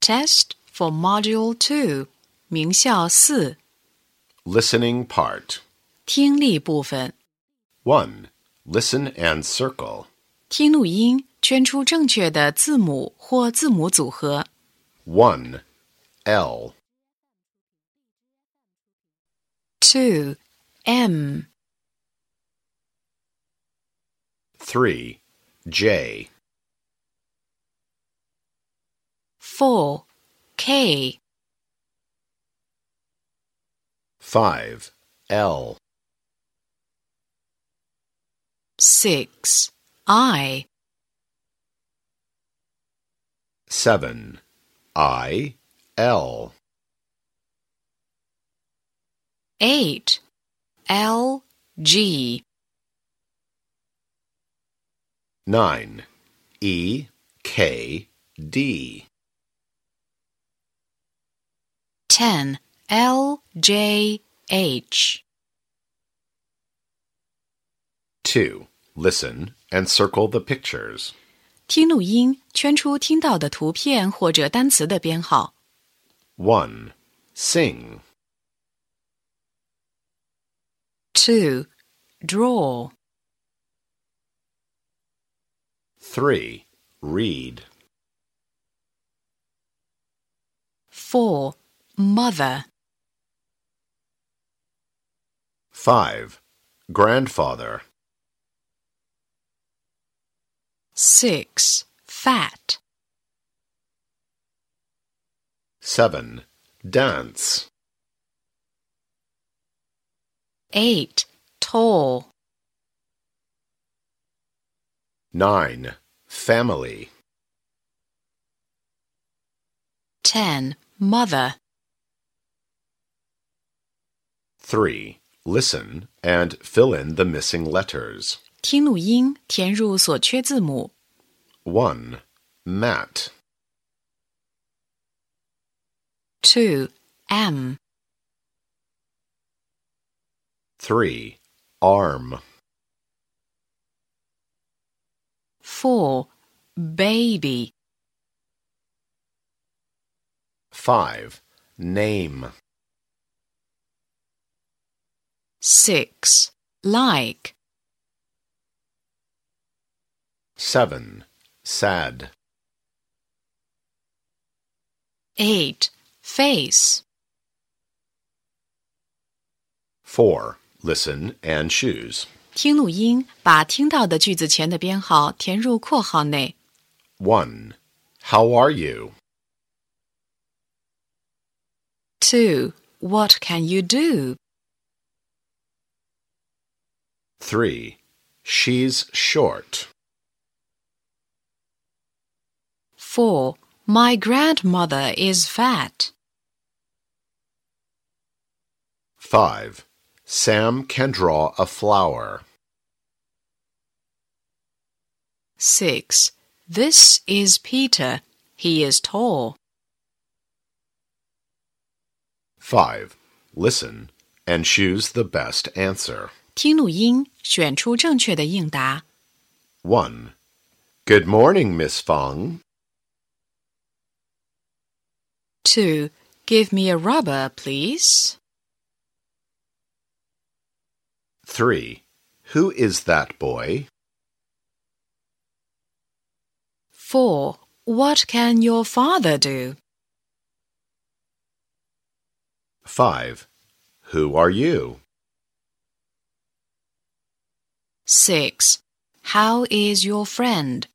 Test for Module 2, 名校4 Listening part. 听力部分 1. Listen and circle. 听录音，圈出正确的字母或字母组合 1. L. 2. M. 3. J. 4. K. 5. L. 6. I. 7. I. L. 8. L. G. 9. E. K. D. 10. L. J. H. 2. Listen and circle the pictures. 听录音，圈出听到的图片或者单词的编号 1. Sing. 2. Draw. 3. Read. 4. Mother. 5. Grandfather. 6. Fat. 7. Dance. 8. Tall. 9. Family. 10. Mother. 3. Listen and fill in the missing letters. 听录音，填入所缺字母 1. Mat. 2. M. 3. Arm. 4. Baby. 5. Name. 6. Like. 7. Sad. 8. Face. 4. Listen and choose. 听录音，把听到的句子前的编号填入括号内 1. How are you? 2. What can you do? 3. She's short. 4. My grandmother is fat. 5. Sam can draw a flower. 6. This is Peter. He is tall. 5. Listen and choose the best answer. 听录音，选出正确的应答 1. Good morning, Miss Fong. 2. Give me a rubber, please. 3. Who is that boy? 4. What can your father do? 5. Who are you? 6. How is your friend?